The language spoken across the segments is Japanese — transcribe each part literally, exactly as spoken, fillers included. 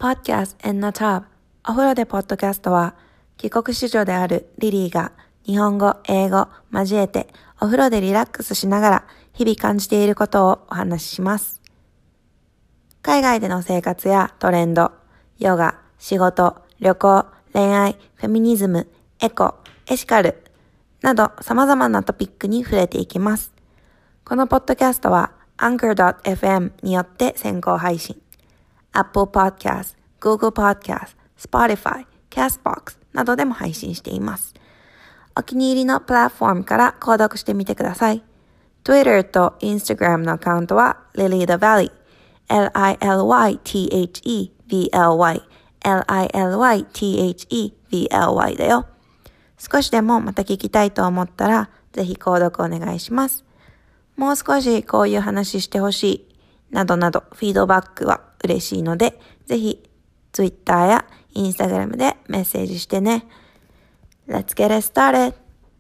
Podcast in the Tub お風呂でポッドキャストは帰国子女であるリリーが日本語、英語交えてお風呂でリラックスしながら日々感じていることをお話しします。海外での生活やトレンド、ヨガ、仕事、旅行、恋愛、フェミニズム、エコ、エシカルなど様々なトピックに触れていきます。このポッドキャストは アンカードットエフエム によって先行配信。Apple Podcast、Google Podcast、Spotify、Castbox などでも配信しています。お気に入りのプラットフォームから購読してみてください。Twitter と Instagram のアカウントは Lily the Valley、エルアイエルワイティーエイチイーブイエルワイ、エルアイエルワイティーエイチイーブイエルワイ だよ。少しでもまた聞きたいと思ったら、ぜひ購読お願いします。もう少しこういう話してほしい、などなどフィードバックは嬉しいので、ぜひ Twitter や Instagram でメッセージしてね。Let's get it started!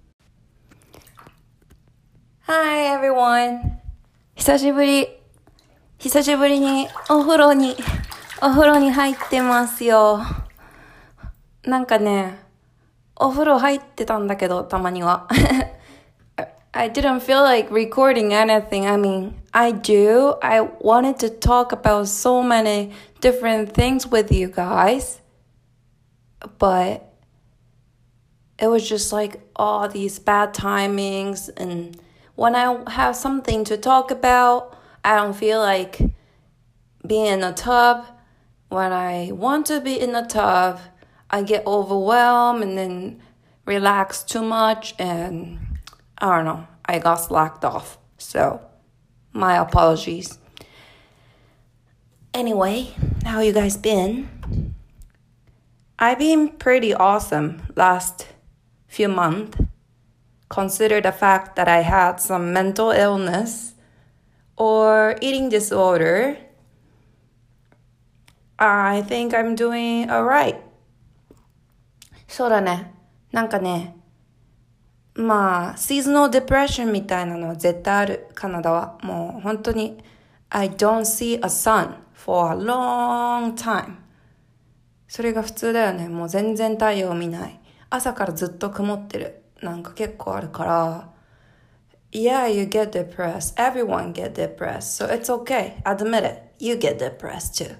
Hi everyone! 久しぶり、久しぶりにお風呂に、お風呂に入ってますよ。なんかね、お風呂入ってたんだけど、たまには。I didn't feel like recording anything. I mean, I do. I wanted to talk about so many different things with you guys. But it was just like all these bad timings. And when I have something to talk about, I don't feel like being in a tub. When I want to be in a tub, I get overwhelmed and then relax too much. And I don't know. I got slacked off. So, my apologies. Anyway, how you guys been? I've been pretty awesome last few months. Consider the fact that I had some mental illness or eating disorder. I think I'm doing alright. そうだね。なんかね、まあ、シーズナルデプレッションみたいなのは絶対ある、カナダは。もう本当に、I don't see a sun for a long time. それが普通だよね。もう全然太陽見ない。朝からずっと曇ってる。なんか結構あるから。Yeah, you get depressed. Everyone get depressed. So it's okay. Admit it. You get depressed too.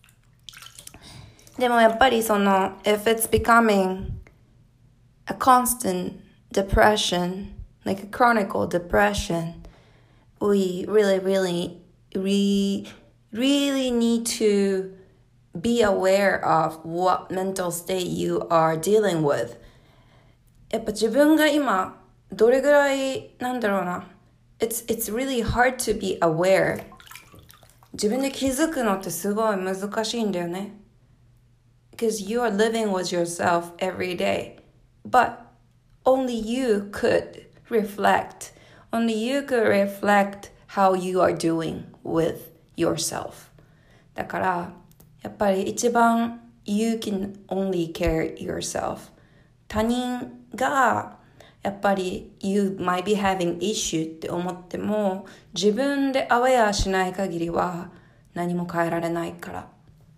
でもやっぱりその、if it's becoming a constant depression, like a chronic depression, we really, really, really, really need to be aware of what mental state you are dealing with. やっぱ自分が今どれぐらいなんだろうな。It's, it's really hard to be aware. 自分で気づくのってすごい難しいんだよね。Because you are living with yourself every day. But only you could reflect. Only you could reflect how you are doing with yourself. だから、やっぱり一番 you can only care yourself. 他人がやっぱり you might be having issue って思っても自分でアウェアしない限りは何も変えられないから。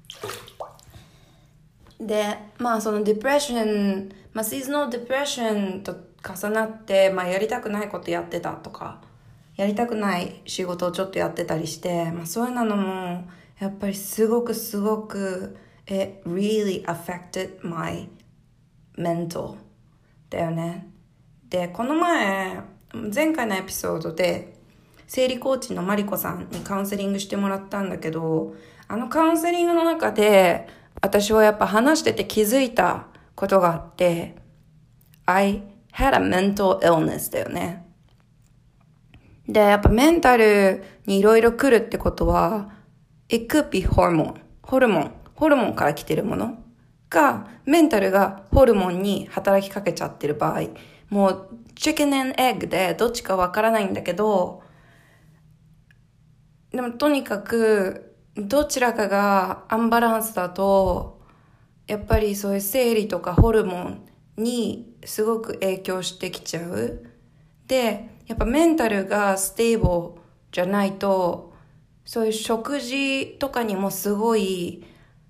で、まあそのデプレッション、まあシーズナルデプレッションと重なって、まあやりたくないことやってたとか、やりたくない仕事をちょっとやってたりして、まあそういうのもやっぱりすごくすごく it really affected my mental だよね。で、この前、前回のエピソードで生理コーチのマリコさんにカウンセリングしてもらったんだけど、あのカウンセリングの中で私はやっぱ話してて気づいたことがあって、I had a mental illness だよね。で、やっぱメンタルにいろいろ来るってことは、it could be hormone. ホルモン。ホルモンから来てるものが、メンタルがホルモンに働きかけちゃってる場合、もう、チキン&エッグでどっちかわからないんだけど、でもとにかく、どちらかがアンバランスだと、やっぱりそういう生理とかホルモンにすごく影響してきちゃう。で、やっぱメンタルがステーブルじゃないと、そういう食事とかにもすごい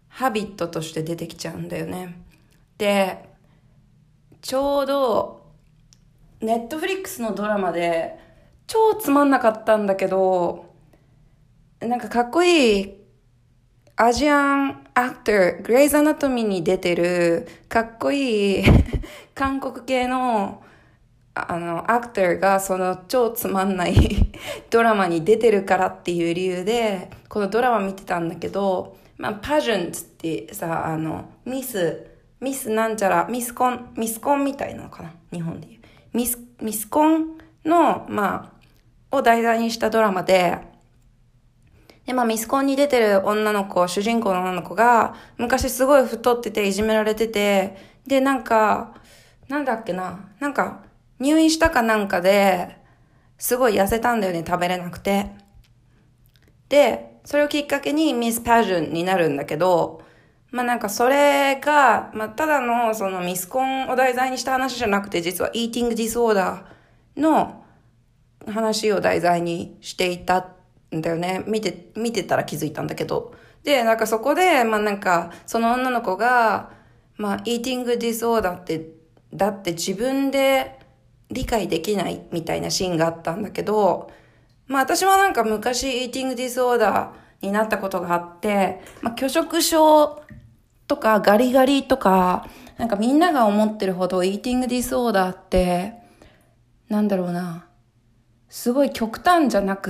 ハビットとして出てきちゃうんだよね。で、ちょうどネットフリックスのドラマで超つまんなかったんだけど、なんかかっこいいアジアンアクター、グレイズアナトミーに出てるかっこいい韓国系のあのアクターがその超つまんないドラマに出てるからっていう理由でこのドラマ見てたんだけど、まあパジェントってさ、あのミスミスなんちゃらミスコンミスコンみたいなのかな、日本でいうミスミスコンのまあを題材にしたドラマで、でまあミスコンに出てる女の子、主人公の女の子が昔すごい太ってていじめられてて、でなんかなんだっけな、なんか入院したかなんかですごい痩せたんだよね、食べれなくて。でそれをきっかけにミスパジョンになるんだけど、まあなんかそれが、まあただのそのミスコンを題材にした話じゃなくて、実はイーティングディスオーダーの話を題材にしていたんだよね。見て、見てたら気づいたんだけど。で、なんかそこで、まあなんかその女の子が、まあイーティングディスオーダーって、だって自分で理解できないみたいなシーンがあったんだけど、まあ私はなんか昔イーティングディスオーダーになったことがあって、まあ拒食症とかガリガリとか、なんかみんなが思ってるほどイーティングディスオーダーって、なんだろうな、すごい極端じゃなくって、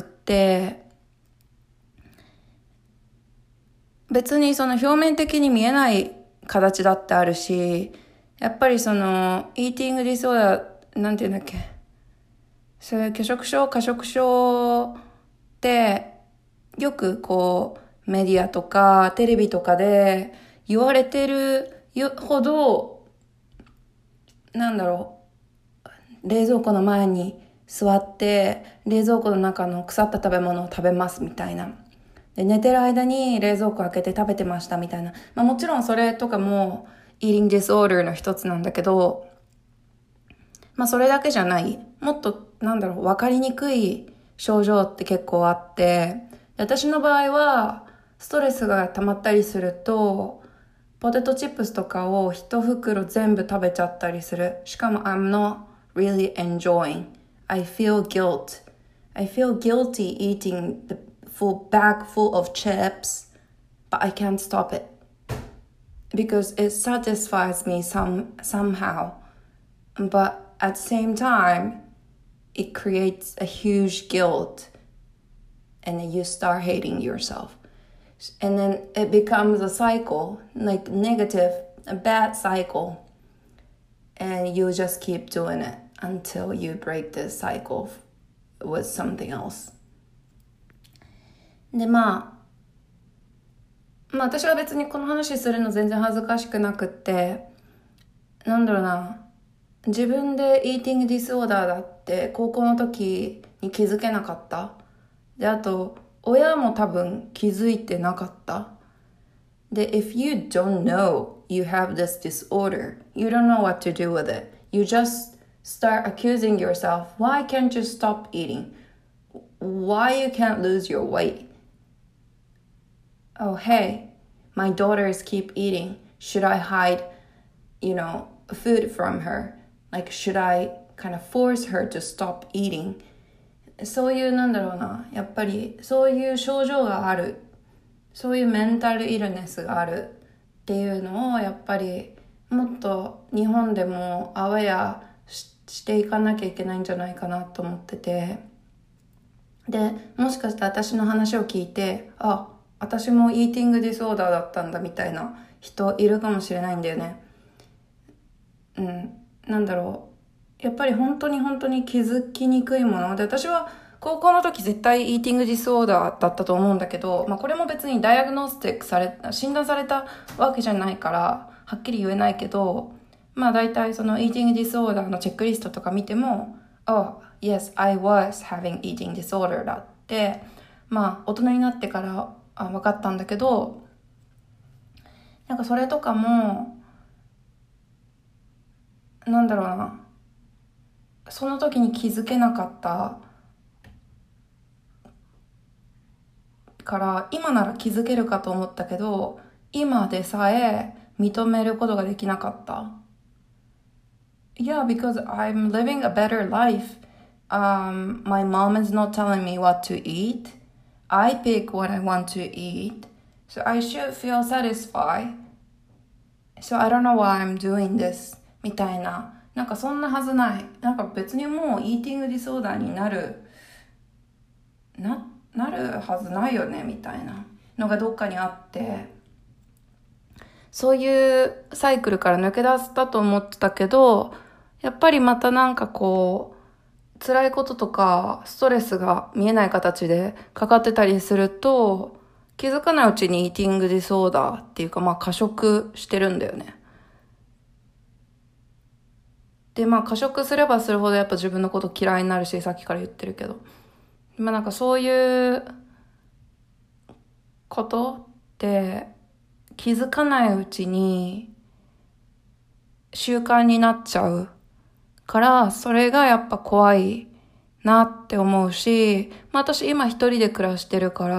別にその表面的に見えない形だってあるし、やっぱりそのイーティングディスオーダー、なんていうんだっけ、そういう拒食症、過食症ってよくこうメディアとかテレビとかで言われてるほど、なんだろう、冷蔵庫の前に座って冷蔵庫の中の腐った食べ物を食べますみたいな。で寝てる間に冷蔵庫開けて食べてましたみたいな。まあもちろんそれとかもイーティングディスオーダーの一つなんだけど、まあそれだけじゃない。もっとなんだろう、わかりにくい症状って結構あって、私の場合はストレスが溜まったりするとポテトチップスとかを一袋全部食べちゃったりする。しかも I'm not really enjoying. I feel guilt. I feel guilty eating the full bag full of chips, but I can't stop it because it satisfies me some somehow. But at the same time, it creates a huge guilt, and then you start hating yourself. And then it becomes a cycle, like negative, a bad cycle. And you just keep doing it until you break this cycle with something else. で、まあ、まあ私は別にこの話するの全然恥ずかしくなくって、なんだろうな、自分でイーティングディスオーダーだって高校の時に気づけなかった。で、あと、親も多分気づいてなかった。で、if you don't know you have this disorder, you don't know what to do with it. You just start accusing yourself. Why can't you stop eating? Why you can't lose your weight? Oh, hey, my daughters keep eating. Should I hide, you know, food from her? Like, should I kind of force her to stop eating?そういうなんだろうな、やっぱりそういう症状がある、そういうメンタルイルネスがあるっていうのをやっぱりもっと日本でもアウェア し, していかなきゃいけないんじゃないかなと思ってて、でもしかして私の話を聞いて、あ、私もイーティングディスオーダーだったんだみたいな人いるかもしれないんだよね。うん、なんだろう、やっぱり本当に本当に気づきにくいもので、私は高校の時絶対イーティングディスオーダーだったと思うんだけど、まあこれも別にダイアグノスティックされ、診断されたわけじゃないからはっきり言えないけど、まあ大体そのイーティングディスオーダーのチェックリストとか見ても、Oh, yes, I was having eating disorder だって、まあ大人になってからあ分かったんだけど、なんかそれとかも、なんだろうな、その時に気づけなかったから今なら気づけるかと思ったけど、 今でさえ認めることができなかった。Yeah, because I'm living a better life. Um, my mom is not telling me what to eat. I pick what I want to eat. So I should feel satisfied. So I don't know why I'm doing this. みたいな。なんかそんなはずない。なんか別にもうイーティングディソーダーになる、な、なるはずないよね、みたいなのがどっかにあって。そういうサイクルから抜け出したと思ってたけど、やっぱりまたなんかこう、辛いこととかストレスが見えない形でかかってたりすると、気づかないうちにイーティングディソーダーっていうかまあ過食してるんだよね。でまあ過食すればするほどやっぱ自分のこと嫌いになるし、さっきから言ってるけど。まあなんかそういうことって気づかないうちに習慣になっちゃうから、それがやっぱ怖いなって思うし、まあ私今一人で暮らしてるから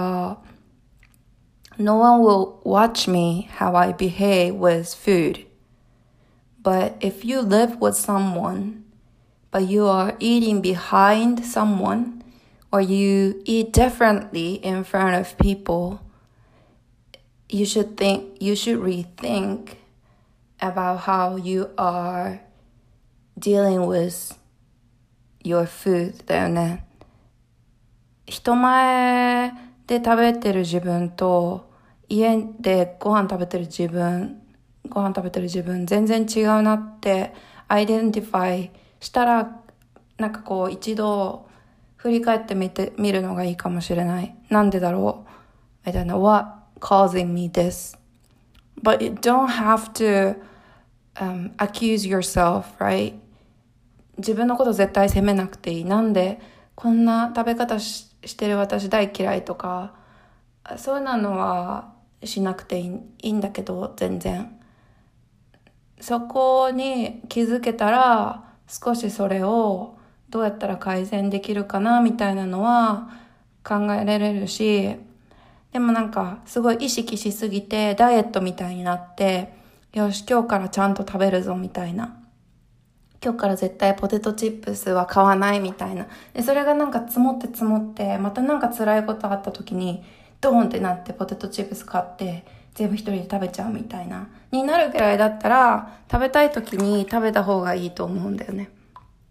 、No one will watch me how I behave with food. But if you live with someone, but you are eating behind someone, or you eat differently in front of people, you should think, you should rethink about how you are dealing with your food だよね。人前で食べてる自分と家でご飯食べてる自分、ご飯食べてる自分全然違うなってアイデンティファイしたら、なんかこう一度振り返ってみてみるのがいいかもしれない。なんでだろう I don't know what causing me this. But you don't have to、um, accuse yourself, right? 自分のこと絶対責めなくていい。なんでこんな食べ方 し, してる私大嫌いとか、そういうのはしなくてい い, いいんだけど、全然。そこに気づけたら、少しそれをどうやったら改善できるかなみたいなのは考えられるし、でもなんかすごい意識しすぎてダイエットみたいになって、よし今日からちゃんと食べるぞみたいな、今日から絶対ポテトチップスは買わないみたいな。でそれがなんか積もって積もって、またなんか辛いことあった時にドーンってなってポテトチップス買って全部一人で食べちゃうみたいなになるくらいだったら、食べたい時に食べた方がいいと思うんだよね。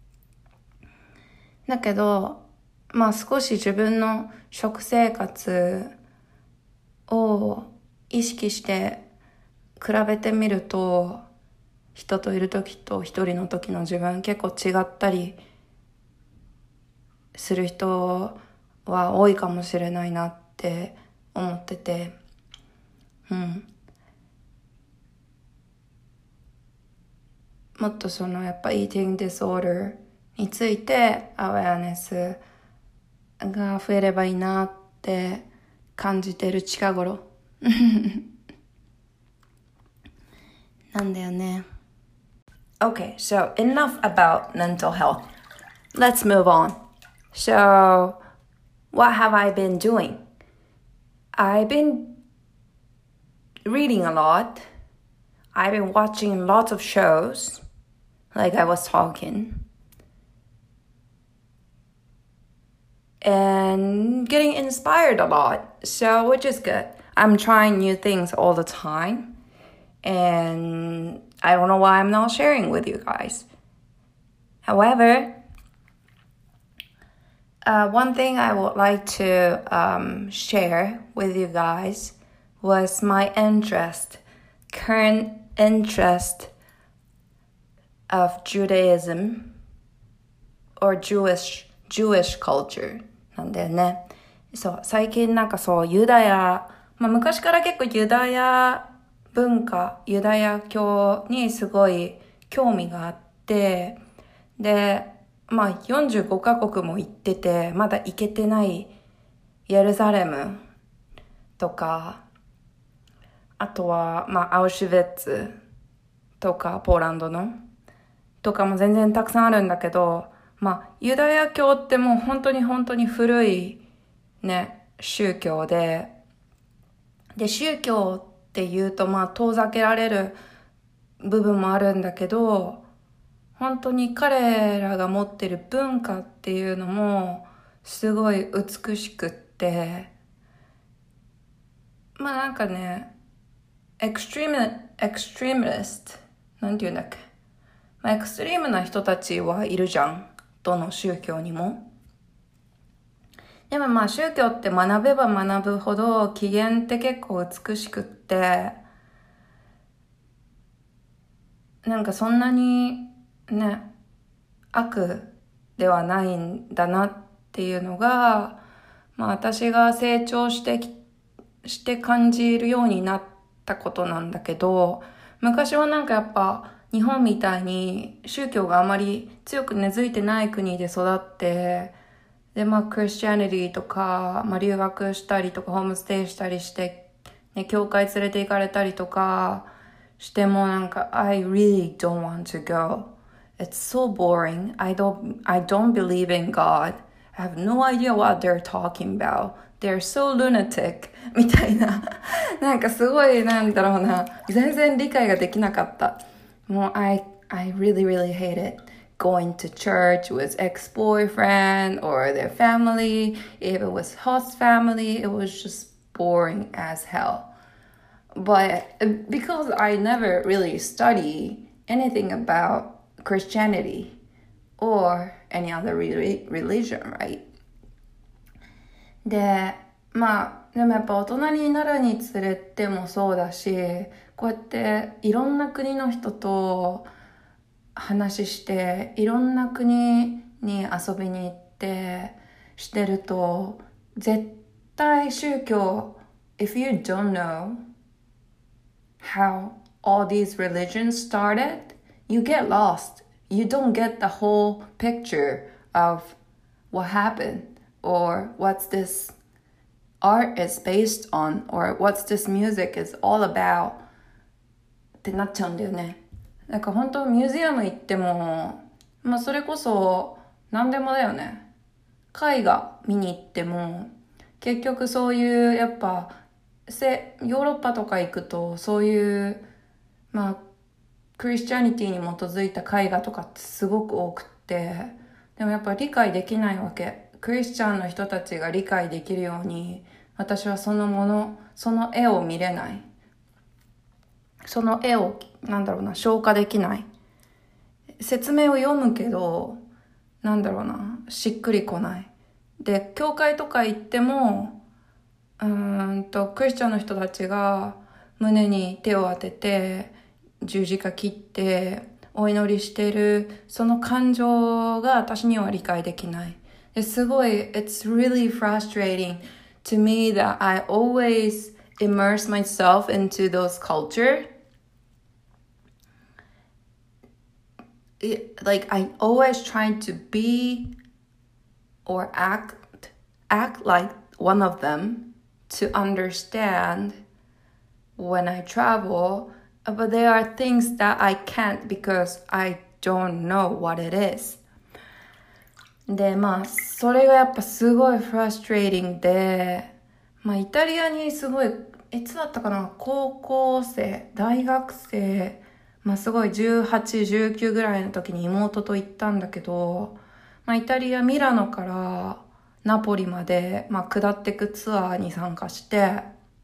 だけどまあ少し自分の食生活を意識して比べてみると、人といる時と一人の時の自分結構違ったりする人は多いかもしれないなって思ってて、うん。もっとそのやっぱ eating disorder についてアウェアネスが増えればいいなって感じてる近頃なんだよね。Okay, so enough about mental health. Let's move on. So, what have I been doing? I've been reading a lot. I've been watching lots of shows, like I was talking. And getting inspired a lot, so which is good. I'm trying new things all the time. And I don't know why I'm not sharing with you guys. However, uh, one thing I would like to um, share with you guys was my interest, current interest of Judaism or Jewish, Jewish culture なんだよね。そう、最近なんかそう、ユダヤ、まあ昔から結構ユダヤ文化、ユダヤ教にすごい興味があって、で、まあよんじゅうごカ国も行ってて、まだ行けてないエルサレムとか、あとはまあアウシュヴィッツとかポーランドのとかも全然たくさんあるんだけど、まあユダヤ教ってもう本当に本当に古いね宗教で、で宗教ってっていうとまあ遠ざけられる部分もあるんだけど、本当に彼らが持ってる文化っていうのもすごい美しくって、まあなんかね、エクストリーム、エクストリームリスト、なんて言うんだっけ。まあ、エクストリームな人たちはいるじゃん。どの宗教にも。でもまあ宗教って学べば学ぶほど起源って結構美しくって、なんかそんなにね、悪ではないんだなっていうのが、まあ私が成長してき、して感じるようになったことなんだけど、昔はなんかやっぱ日本みたいに宗教があまり強く根付いてない国で育って、でまあクリスチャニティとか、まあ、留学したりとかホームステイしたりして、ね、教会連れて行かれたりとかしてもなんか I really don't want to go. It's so boring. I don't, I don't believe in God. I have no idea what they're talking about. They're so lunatic. みたいな。なんかすごいなんだろうな。全然理解ができなかった。もう I, I really, really hate it.Going to church with ex-boyfriend or their family. If it was host family, it was just boring as hell. But because I never really study anything about Christianity or any other re- religion, right? で、まあ、でもやっぱ大人になるにつれてもそうだし、こうやっていろんな国の人と話していろんな国に遊びに行ってしてると絶対宗教 if you don't know how all these religions started you get lost. You don't get the whole picture of what happened or what's this art is based on or what's this music is all about ってなっちゃうんだよね。なんか本当ミュージアム行っても、まあそれこそ何でもだよね。絵画見に行っても、結局そういうやっぱせヨーロッパとか行くとそういうまあクリスチャニティに基づいた絵画とかってすごく多くって、でもやっぱ理解できないわけ。クリスチャンの人たちが理解できるように、私はそのもの、その絵を見れない。その絵をなんだろうな消化できない。説明を読むけどなんだろうなしっくりこない。で教会とか行ってもうーんとクリスチャンの人たちが胸に手を当てて十字架切ってお祈りしてるその感情が私には理解できない。ですごい It's really frustrating to me that I always immerse myself into those culture.It, like I always try to be or act act like one of them to understand when I travel, but there are things that I can't because I don't know what it is. でまあそれがやっぱすごいフラストレーティングで、まあイタリアにすごいいつだったかな高校生大学生まあすごいじゅうはち、じゅうきゅうぐらいの時に妹と行ったんだけど、まあイタリアミラノからナポリまでまあ下ってくツアーに参加して、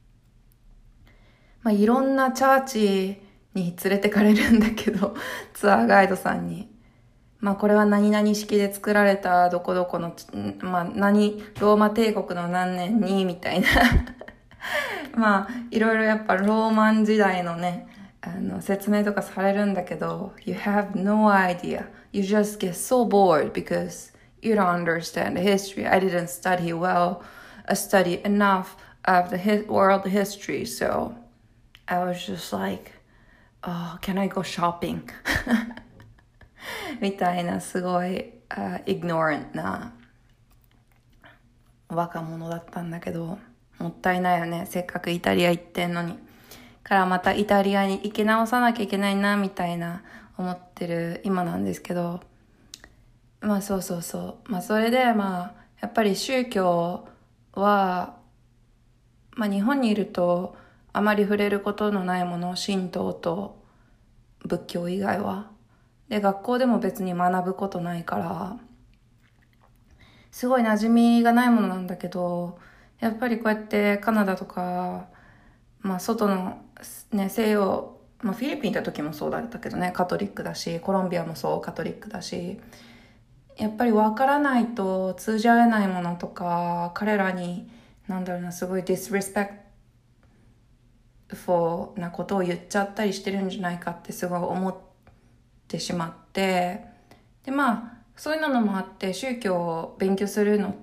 まあいろんなチャーチに連れてかれるんだけど、ツアーガイドさんに。まあこれは何々式で作られたどこどこの、まあ何、ローマ帝国の何年にみたいな。まあいろいろやっぱローマン時代のね、あの説明とかされるんだけど You have no idea. You just get so bored because you don't understand the history. I didn't study well, I studied enough of the hi- world history. So I was just like, oh, can I go shopping? みたいなすごい、uh, ignorant な若者だったんだけど、もったいないよね。せっかくイタリア行ってんのに。からまたイタリアに行き直さなきゃいけないなみたいな思ってる今なんですけど、まあそうそうそうまあそれでまあやっぱり宗教はまあ日本にいるとあまり触れることのないもの、神道と仏教以外は。で、学校でも別に学ぶことないから、すごい馴染みがないものなんだけど、やっぱりこうやってカナダとか、まあ外のね、西洋、まあフィリピン行った時もそうだったけどね、カトリックだし、コロンビアもそうカトリックだし、やっぱり分からないと通じ合えないものとか、彼らに、なんだろうな、すごい disrespectful なことを言っちゃったりしてるんじゃないかってすごい思ってしまって、で、まあ、そういうのもあって、宗教を勉強するのって、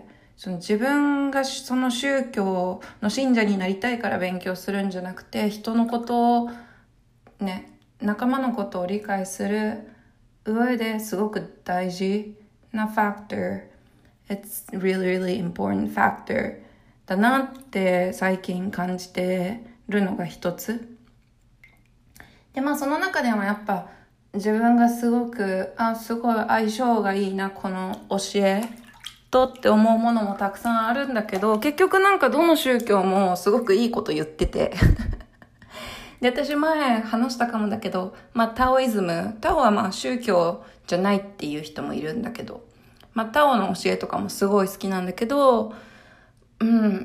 その自分がその宗教の信者になりたいから勉強するんじゃなくて、人のことを、ね、仲間のことを理解する上ですごく大事な factor. It's really, really important factor だなって最近感じてるのが一つ。で、まあその中でもやっぱ自分がすごく、あ、すごい相性がいいな、この教えとって思うものもたくさんあるんだけど、結局なんかどの宗教もすごくいいこと言ってて。で、私前話したかもだけど、まあタオイズム、タオはまあ宗教じゃないっていう人もいるんだけど、まあタオの教えとかもすごい好きなんだけど、うん、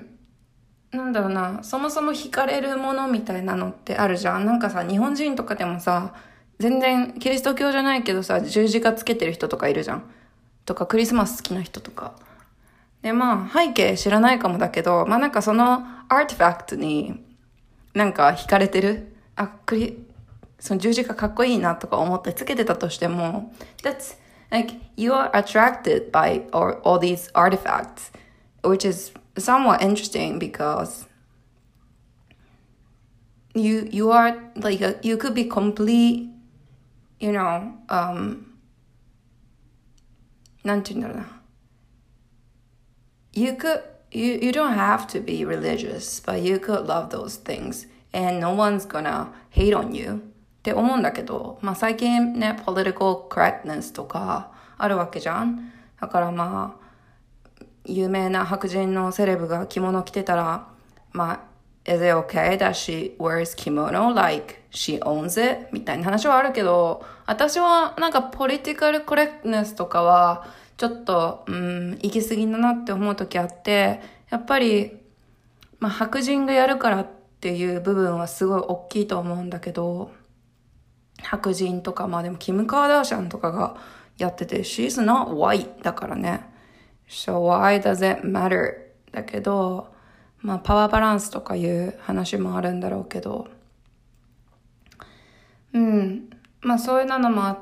なんだろうな、そもそも惹かれるものみたいなのってあるじゃん。なんかさ、日本人とかでもさ、全然キリスト教じゃないけどさ、十字架つけてる人とかいるじゃん。とかクリスマス好きな人とか。で、まあ背景知らないかもだけど、まあなんかそのアーティファクトになんか惹かれてる。あ、クリ、その十字架かっこいいなとか思ってつけてたとしても、that's like you are attracted by all, all these artifacts, which is somewhat interesting because you you are like a, you could be complete, you know, um なんて言うんだろうな。You could you you don't have to be religious, but you could love those things, and no one's gonna hate on you. って思うんだけど、まあ最近ね、political correctness とかあるわけじゃん。だからまあ有名な白人のセレブが着物着てたら、まあ is it okay that she wears kimono like she owns it? みたいな話はあるけど、私はなんかポリティカルコレクトネスとかはちょっと、うん、行き過ぎだなって思う時あって、やっぱり、まあ白人がやるからっていう部分はすごい大きいと思うんだけど、白人とか、まあでもキム・カーダーシャンとかがやってて、she's not white だからね。So why does it matter? だけど、まあパワーバランスとかいう話もあるんだろうけど、うん、まあそういうのもあって、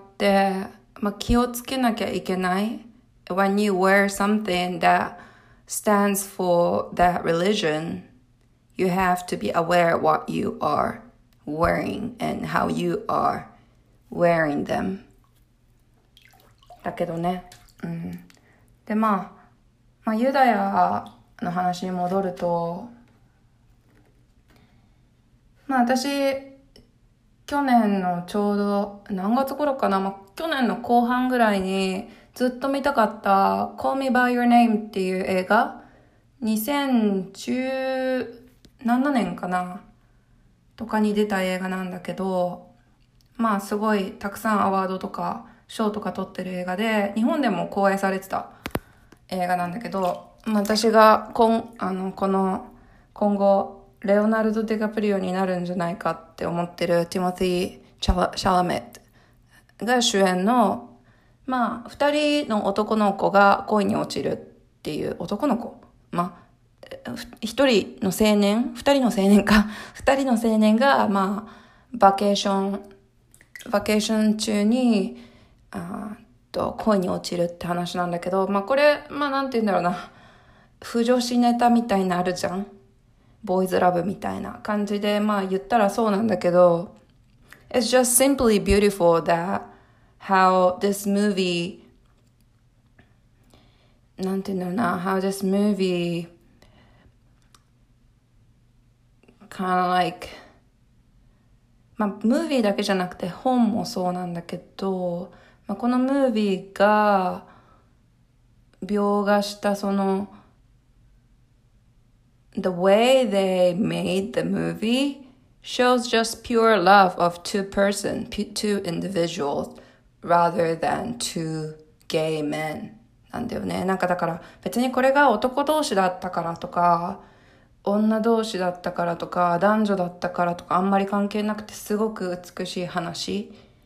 まあ気をつけなきゃいけない。When you wear something that stands for that religion, you have to be aware what you are wearing and how you are wearing them. だけどね、うん。で、まあ、まあ、ユダヤの話に戻ると、まあ私、去年のちょうど、何月頃かな、まあ、去年の後半ぐらいにずっと見たかった Call Me By Your Name っていう映画、にせんじゅうななねんかなとかに出た映画なんだけど、まあすごいたくさんアワードとか賞とか取ってる映画で、日本でも公演されてた映画なんだけど、まあ、私がこんあのこの今後レオナルド・ディカプリオになるんじゃないかって思ってるティモティ・シャラ、シャラメットが主演の、まあ二人の男の子が恋に落ちるっていう男の子、まあ一人の青年、二人の青年か、二人の青年がまあバケーションバケーション中にあと恋に落ちるって話なんだけど、まあこれまあなんて言うんだろうな、不女子ネタみたいなあるじゃん、ボーイズラブみたいな感じで、まあ言ったらそうなんだけど、 It's just simply beautiful that how this movie なんて言うんだろうな how this movie kind of like まあムービーだけじゃなくて本もそうなんだけど、まあ、このムービーが描画したその the way they made the movie shows just pure love of two person, two individuals rather than two gay men なんだよね。なんかだから別にこれが男同士だったからとか女同士だったからとか男女だったからとかあんまり関係なくてすごく美しい話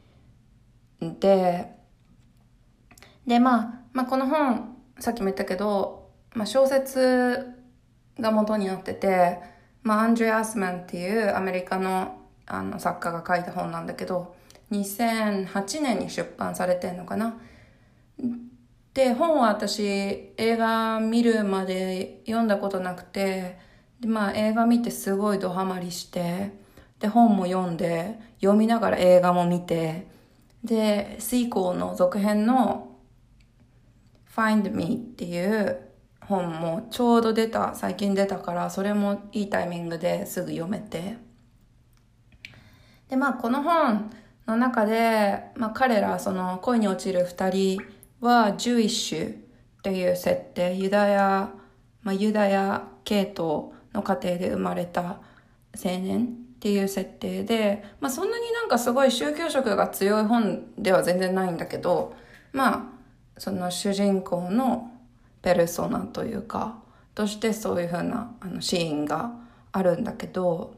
で、でまあ、まあこの本さっきも言ったけど、まあ、小説が元になってて、まあ、アンドレ・アスマンっていうアメリカの、あの作家が書いた本なんだけどにせんはちねんに出版されてんのかな。で本は私映画見るまで読んだことなくて、で、まあ、映画見てすごいドハマりして、で本も読んで読みながら映画も見て、でシーコーの続編の Find Me っていう本もちょうど出た、最近出たから、それもいいタイミングですぐ読めて。で、まあこの本の中で、まあ彼ら、その恋に落ちる二人は、ジュイッシュっていう設定、ユダヤ、まあユダヤ系統の家庭で生まれた青年っていう設定で、まあそんなになんかすごい宗教色が強い本では全然ないんだけど、まあ、その主人公のペルソナというかとしてそういう風なあのシーンがあるんだけど、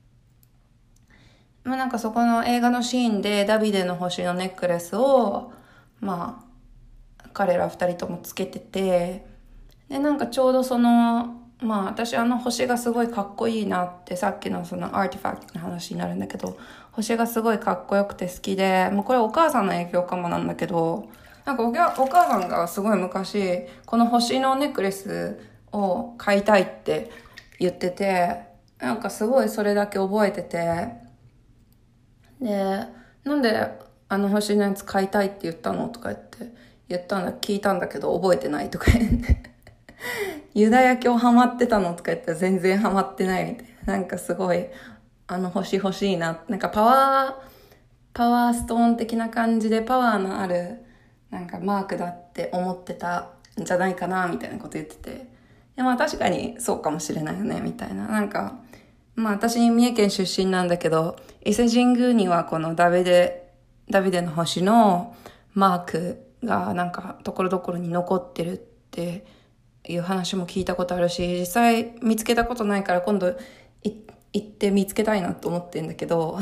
まあなんかそこの映画のシーンでダビデの星のネックレスをまあ彼ら二人ともつけてて、でなんかちょうどそのまあ私あの星がすごいかっこいいなって、さっきのそのアーティファクトの話になるんだけど、星がすごいかっこよくて好きで、もうこれお母さんの影響かもなんだけど、なんかお母さんがすごい昔この星のネックレスを買いたいって言ってて、なんかすごいそれだけ覚えてて、でなんであの星のやつ買いたいって言ったのとか言って言ったんだ聞いたんだけど覚えてないとか言ってユダヤ教ハマってたのとか言ったら全然ハマってないみたいな、なんかすごいあの星欲しいな、なんかパワーパワーストーン的な感じでパワーのあるなんかマークだって思ってたんじゃないかなみたいなこと言ってて、でまあ確かにそうかもしれないよねみたいな、なんかまあ私三重県出身なんだけど、伊勢神宮にはこのダビデダビデの星のマークがなんかところどころに残ってるっていう話も聞いたことあるし、実際見つけたことないから今度行って見つけたいなと思ってんだけど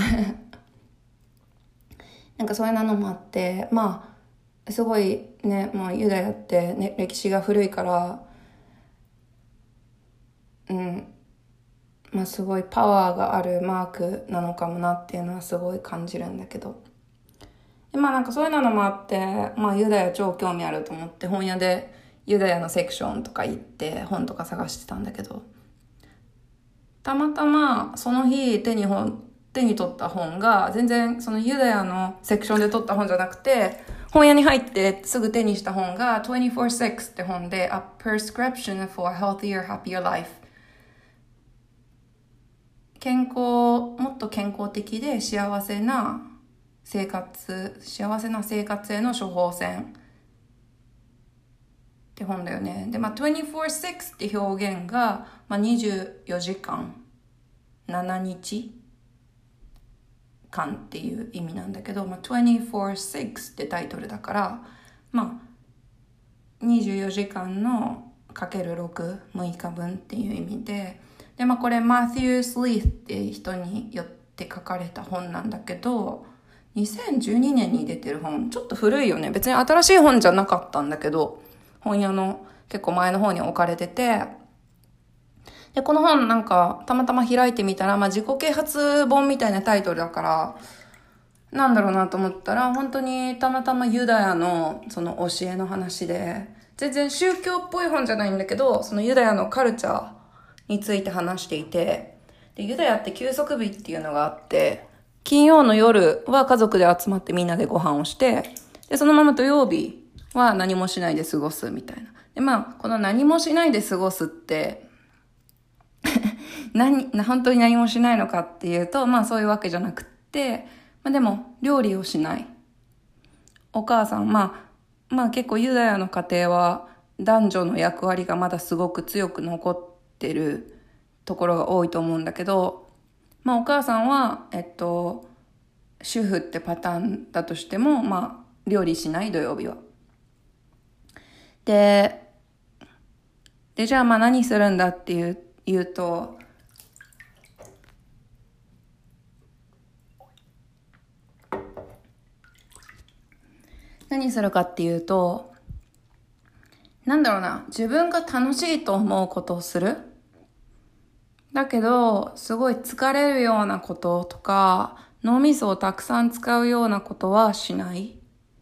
なんかそういうのもあって、まあすごいね、もうユダヤって、ね、歴史が古いから、うん、まあすごいパワーがあるマークなのかもなっていうのはすごい感じるんだけど、でまあなんかそういうのもあって、まあユダヤ超興味あると思って本屋でユダヤのセクションとか行って本とか探してたんだけど、たまたまその日手に本手に取った本が全然そのユダヤのセクションで取った本じゃなくて、本屋に入ってすぐ手にした本がにじゅうよんろくって本で A Prescription for a Healthier Happier Life、 健康もっと健康的で幸せな生活幸せな生活への処方箋って本だよね。で、まあ、にじゅうよんろくって表現が、まあ、にじゅうよじかんしちにちかんっていう意味なんだけど、まあ、にじゅうよんろくってタイトルだから、まあ、にじゅうよじかんのかけるろく、むいかぶんっていう意味で、で、まあ、これマティウス・リーって人によって書かれた本なんだけど、にせんじゅうにねんに出てる本、ちょっと古いよね。別に新しい本じゃなかったんだけど、本屋の結構前の方に置かれてて、で、この本なんかたまたま開いてみたら、まあ自己啓発本みたいなタイトルだから、なんだろうなと思ったら、本当にたまたまユダヤのその教えの話で、全然宗教っぽい本じゃないんだけど、そのユダヤのカルチャーについて話していて、で、ユダヤって休息日っていうのがあって、金曜の夜は家族で集まってみんなでご飯をして、で、そのまま土曜日は何もしないで過ごすみたいな。で、まあ、この何もしないで過ごすって、何、本当に何もしないのかっていうと、まあそういうわけじゃなくって、まあでも、料理をしない。お母さん、まあ、まあ結構ユダヤの家庭は男女の役割がまだすごく強く残ってるところが多いと思うんだけど、まあお母さんは、えっと、主婦ってパターンだとしても、まあ料理しない土曜日は。で、で、じゃあまあ何するんだっていう、言うと、何するかっていうと、なんだろうな、自分が楽しいと思うことをする。だけど、すごい疲れるようなこととか、脳みそをたくさん使うようなことはしない。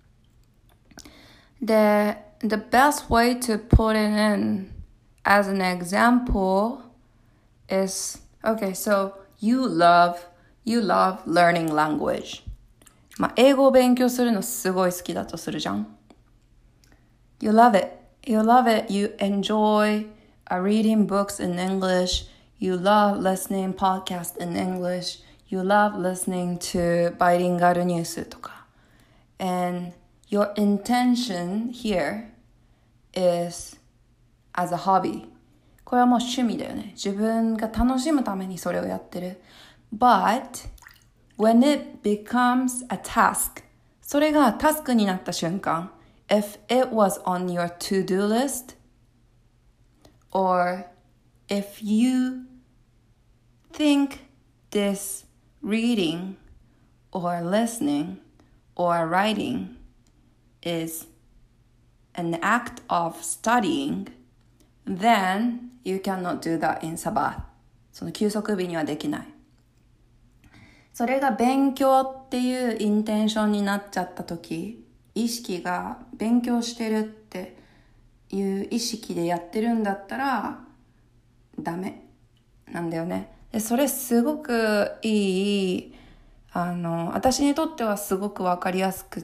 で、the best way to put it in as an example is, okay, so you love, you love learning language. まあ、英語を勉強するのすごい好きだとするじゃん。You love it. You love it. You enjoy uh, reading books in English. You love listening podcasts in English. You love listening to bilingual news とか。And your intention here is as a hobby. これはもう趣味だよね。自分が楽しむためにそれをやってる。But when it becomes a task, それがタスクになった瞬間、if it was on your to-do list, or if you think this reading or listening or writing is an act of studying, then you cannot do that in Sabbath. その休息日にはできない。それが勉強っていうインテンションになっちゃった時、意識が勉強してるっていう意識でやってるんだったらダメなんだよね。で、それすごくいい、あの、私にとってはすごくわかりやすくって、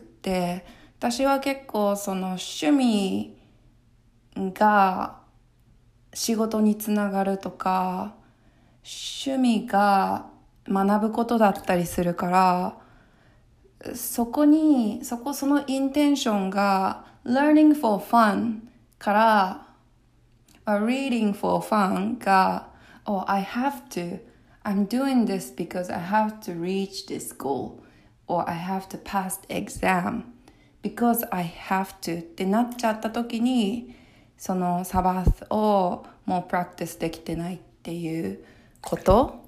私は結構その趣味が仕事につながるとか、趣味が学ぶことだったりするから、そこに、そこそのインテンションが learning for fun から、reading for fun が、oh, I have to, I'm doing this because I have to reach this goal, or I have to pass the exam because I have to ってなっちゃった時に、そのサバスをもうプラクティスできてないっていうこと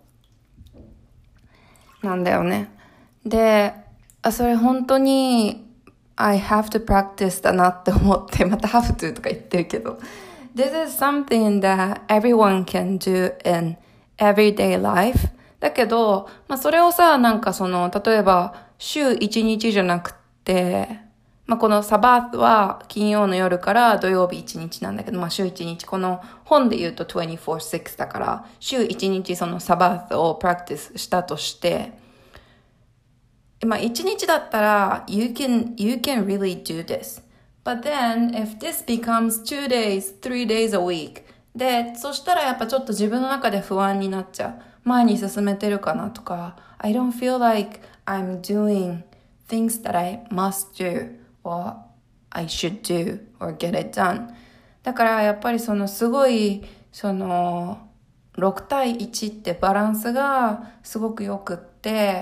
なんだよね。で、それ本当に I have to practice だなって思って、また have to とか言ってるけど、This is something that everyone can do in everyday life. だけど、まあそれをさ、なんかその、例えば週いちにちじゃなくて、まあこのサバーは金曜の夜から土曜日いちにちなんだけど、まあ週いちにち、この本で言うとにじゅうよんろくだから、週いちにちそのサバーをプラクティスしたとして、まあ一日だったら、you can, you can really do this.But then, if this becomes two days, three days a week, で、そしたらやっぱちょっと自分の中で不安になっちゃう。前に進めてるかなとか、I don't feel like I'm doing things that I must do, or I should do, or get it done. だからやっぱりそのすごい、その、ろく対いちってバランスがすごくよくって、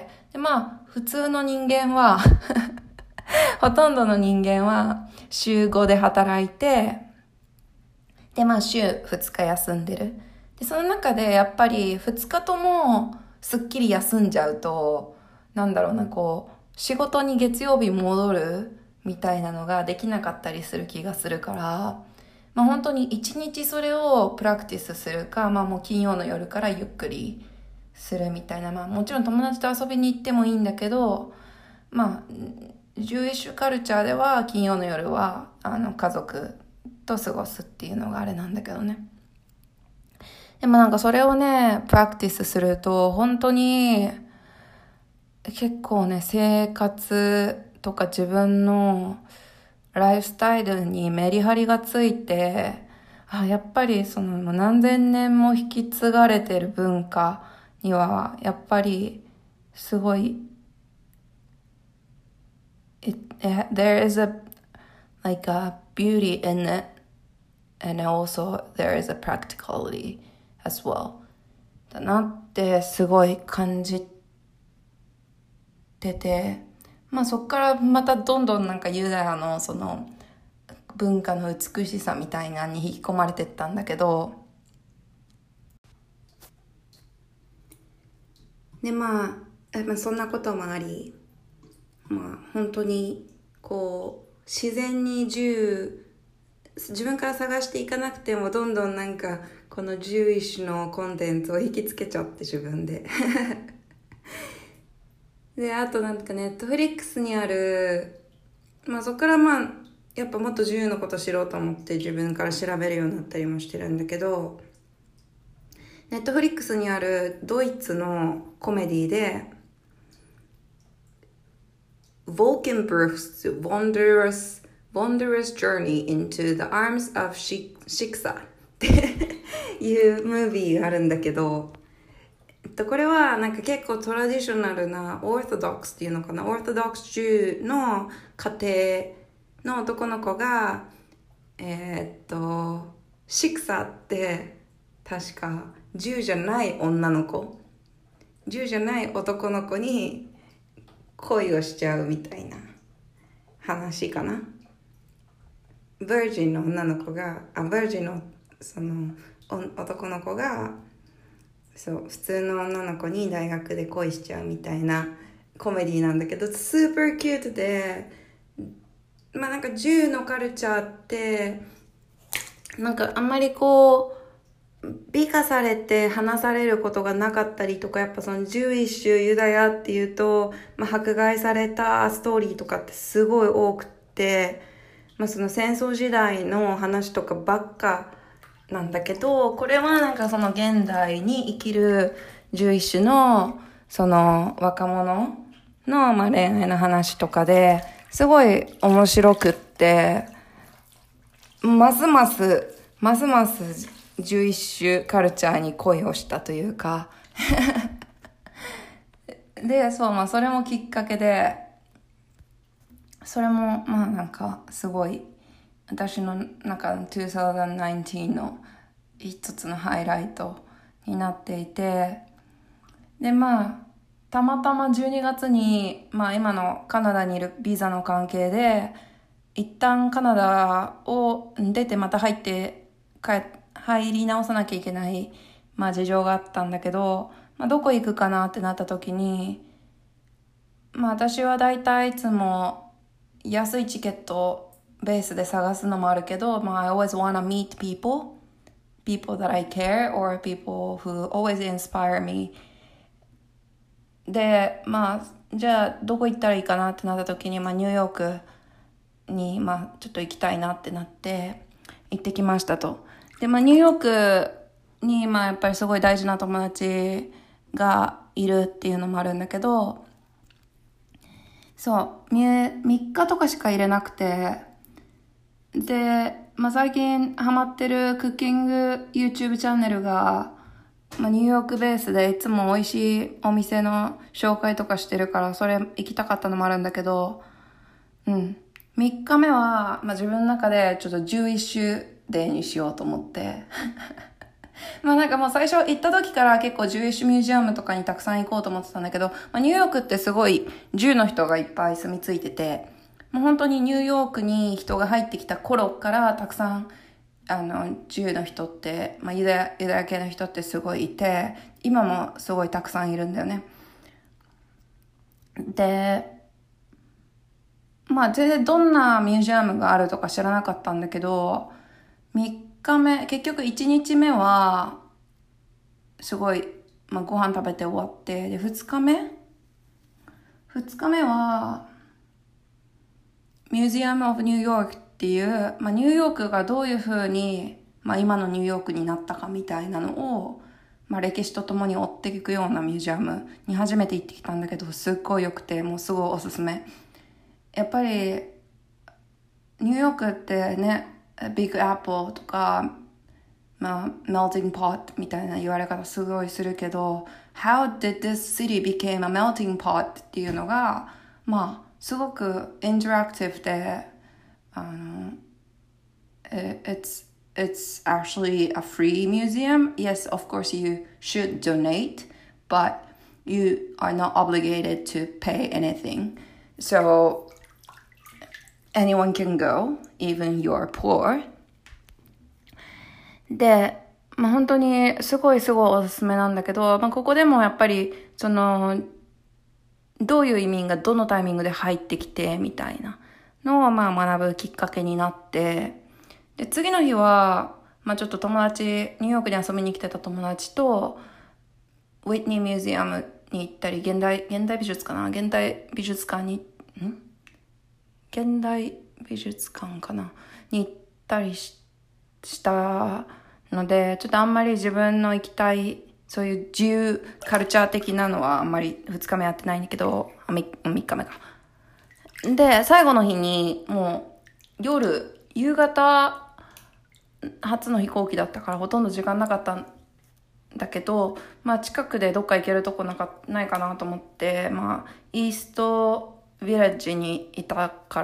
で、まあ、普通の人間は、ほとんどの人間は週ごで働いて、で、まあ週ふつか休んでる。で、その中でやっぱりふつかともすっきり休んじゃうと、なんだろうな、こう、仕事に月曜日戻るみたいなのができなかったりする気がするから、まあ本当に一日それをプラクティスするか、まあもう金曜の夜からゆっくりするみたいな、まあもちろん友達と遊びに行ってもいいんだけど、まあ、ジューイッシュカルチャーでは金曜の夜はあの家族と過ごすっていうのがあれなんだけどね。でもなんかそれをね、プラクティスすると本当に結構ね、生活とか自分のライフスタイルにメリハリがついて、あ、やっぱりその何千年も引き継がれてる文化にはやっぱりすごいIt, it, there is a like a beauty in it, and also there is a practicality as well. だなってすごい感じてて、まあそっからまたどんどんなんかユダヤのその文化の美しさみたいなのに引き込まれてったんだけど、でまあ、まあ、そんなこともあり、まあ本当にこう自然に銃自分から探していかなくてもどんどんなんかこのジューイッシュのコンテンツを引きつけちゃって自分でであとなんかネットフリックスにある、まあそこからまあやっぱもっとジューのこと知ろうと思って自分から調べるようになったりもしてるんだけど、ネットフリックスにあるドイツのコメディでWolkenbruch's Wondrous, Wondrous Journey into the Arms of Shiksa っていうムービーがあるんだけど、えっと、これはなんか結構トラディショナルなオーソドックスっていうのかな、オーソドックス中の家庭の男の子がえー、っとシクサって確か銃じゃない女の子、銃じゃない男の子に恋をしちゃうみたいな話かな。ヴァージンの女の子があヴァージンのその男の子がそう普通の女の子に大学で恋しちゃうみたいなコメディなんだけど、スーパーキュートで、まあなんか銃のカルチャーってなんかあんまりこう美化されて話されることがなかったりとか、やっぱそのジュイッシュユダヤっていうと、まあ、迫害されたストーリーとかってすごい多くって、まあ、その戦争時代の話とかばっかなんだけど、これはなんかその現代に生きるジュイッシュのその若者のまあ恋愛の話とかですごい面白くって、ますますますますジュイッシュカルチャーに恋をしたというかで、そう、まあそれもきっかけで、それもまあなんかすごい私の中のにせんじゅうきゅうの一つのハイライトになっていて、でまあたまたまじゅうにがつに、まあ今のカナダにいるビザの関係で一旦カナダを出てまた入って帰って入り直さなきゃいけない、まあ、事情があったんだけど、まあ、どこ行くかなってなった時に、まあ、私はだいたいいつも安いチケットをベースで探すのもあるけど、まあ、I always wanna meet people people that I care or people who always inspire me で、まあじゃあどこ行ったらいいかなってなった時に、まあ、ニューヨークに、まあ、ちょっと行きたいなってなって行ってきましたと。で、まあ、ニューヨークに、まあ、やっぱりすごい大事な友達がいるっていうのもあるんだけど、そう、みっかとかしか入れなくて、で、まあ、最近ハマってるクッキング YouTube チャンネルが、まあ、ニューヨークベースでいつも美味しいお店の紹介とかしてるから、それ行きたかったのもあるんだけど、うん。みっかめは、まあ、自分の中でちょっとじゅういっシュデーにしようと思ってまあなんかもう最初行った時から結構ジューイッシュミュージアムとかにたくさん行こうと思ってたんだけど、まあ、ニューヨークってすごい銃の人がいっぱい住み着いてて、もう本当にニューヨークに人が入ってきた頃からたくさんあの銃の人って、まあ、ユダヤ、ユダヤ系の人ってすごいいて、今もすごいたくさんいるんだよね。でまあ全然どんなミュージアムがあるとか知らなかったんだけど、みっかめ、結局いちにちめは、すごい、まあ、ご飯食べて終わって、で、ふつかめ ?ふつ 日目は、ミュージアム・オブ・ニューヨークっていう、まあ、ニューヨークがどういう風に、まあ、今のニューヨークになったかみたいなのを、まあ、歴史とともに追っていくようなミュージアムに初めて行ってきたんだけど、すっごい良くて、もうすごいおすすめ。やっぱり、ニューヨークってね、ビッグアップルとか、まあ、melting pot みたいな言われ方すごいするけど、How did this city became a melting pot っていうのが、まあ、すごくインタラクティブで、あの、it's it's actually a free museum. Yes, of course you should donate, but you are not obligated to pay anything. So anyone can go, even you're poor. で、まあ、本当にすごいすごいおすすめなんだけど、まあ、ここでもやっぱりそのどういう移民がどのタイミングで入ってきてみたいなのをまあ学ぶきっかけになって、で次の日はまあちょっと友達、ニューヨークに遊びに来てた友達とウィットニーミュージアムに行ったり、現代現代美術かな現代美術館にん現代美術館かなに行ったり し, したので、ちょっとあんまり自分の行きたいそういう自由カルチャー的なのはあんまりふつかめやってないんだけど、みっかめか。で、最後の日にもう夜、夕方初の飛行機だったからほとんど時間なかったんだけど、まあ近くでどっか行けるとこなかないかなと思って、まあイーストヴィレッジにいたから、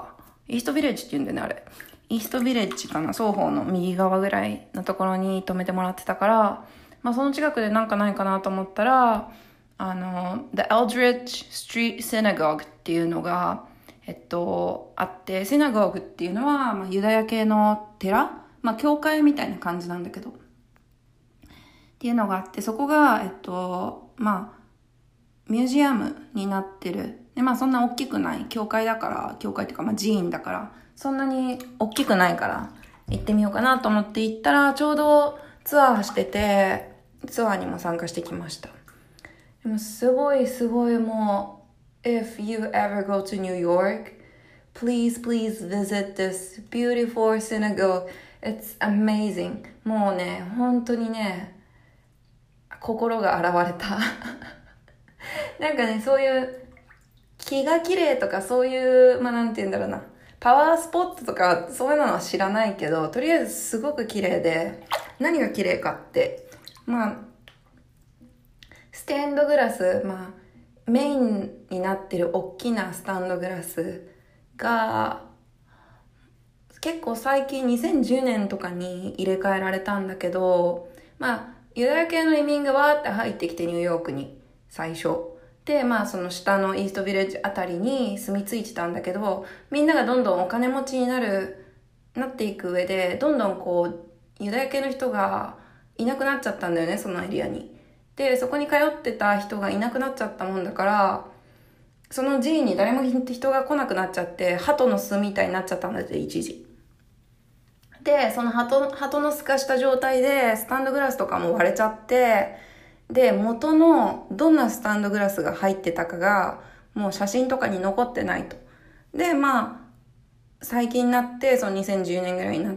イーストヴィレッジって言うんだよね、あれ。イーストヴィレッジかな、双方の右側ぐらいのところに泊めてもらってたから、まあその近くでなんかないかなと思ったら、あの、The Eldridge Street Synagogue っていうのが、えっと、あって、シナゴーグっていうのは、まあ、ユダヤ系の寺、まあ、教会みたいな感じなんだけど、っていうのがあって、そこが、えっと、まあ、ミュージアムになってる。で、まあ、そんな大きくない。教会だから、教会っていうか、まあ、寺院だから、そんなに大きくないから、行ってみようかなと思って行ったら、ちょうどツアーしてて、ツアーにも参加してきました。でも、すごいすごいもう、If you ever go to New York, please, please visit this beautiful synagogue. It's amazing. もうね、本当にね、心が洗われた。なんかね、そういう気が綺麗とかそういう、まあなんて言うんだろうな、パワースポットとかそういうのは知らないけど、とりあえずすごく綺麗で、何が綺麗かって、まあ、ステンドグラス、まあ、メインになってる大きなスタンドグラスが結構最近にせんじゅうねんとかに入れ替えられたんだけど、まあユダヤ系の移民がわーって入ってきてニューヨークに最初で、まあその下のイーストビレッジあたりに住み着いてたんだけど、みんながどんどんお金持ちになるなっていく上でどんどんこうユダヤ系の人がいなくなっちゃったんだよね、そのエリアに。で、そこに通ってた人がいなくなっちゃったもんだから、その寺院に誰も人が来なくなっちゃって、鳩の巣みたいになっちゃったんだって、一時。で、その鳩、鳩の巣化した状態で、スタンドグラスとかも割れちゃって、で、元のどんなスタンドグラスが入ってたかが、もう写真とかに残ってないと。で、まあ、最近になって、そのにせんじゅうねんぐらいになって、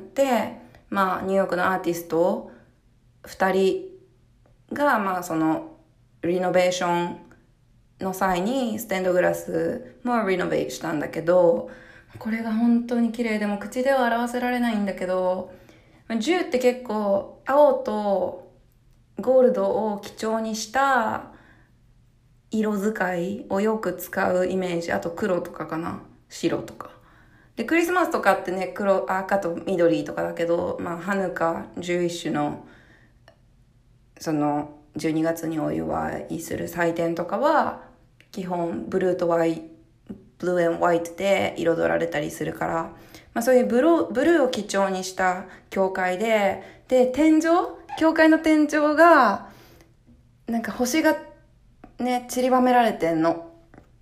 まあ、ニューヨークのアーティスト二人が、まあそのリノベーションの際にステンドグラスもリノベーしたんだけど、これが本当に綺麗でも口では表せられないんだけど、銃って結構青とゴールドを基調にした色使いをよく使うイメージ。あと黒とかかな、白とかで、クリスマスとかってね、黒、赤と緑とかだけど、まあハヌカじゅういっ種のそのじゅうにがつにお祝いする祭典とかは基本ブルーとワイブルー&ホワイトで彩られたりするから、まあ、そういうブルー、ブルーを基調にした教会で、で天井、教会の天井がなんか星がね散りばめられてんの、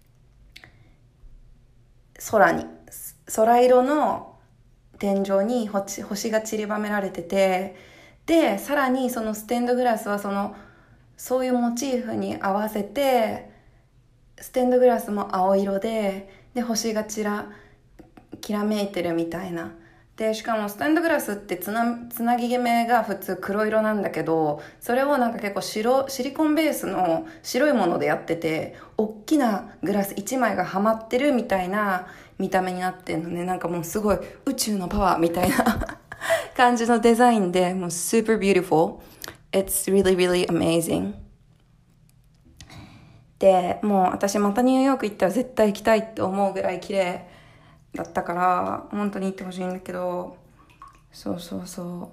空に空色の天井に星、星が散りばめられてて、でさらにそのステンドグラスはそのそういうモチーフに合わせてステンドグラスも青色で、で星がちらきらめいてるみたいな。でしかもステンドグラスってつな、つなぎ目が普通黒色なんだけど、それをなんか結構白シリコンベースの白いものでやってて、大きなグラスいちまいがはまってるみたいな見た目になってんのね。なんかもうすごい宇宙のパワーみたいな感じのデザインで、もう super beautiful. It's really really amazing. で、もう私またニューヨーク行ったら絶対行きたいって思うぐらい綺麗だったから、本当に行ってほしいんだけど、 そうそうそう。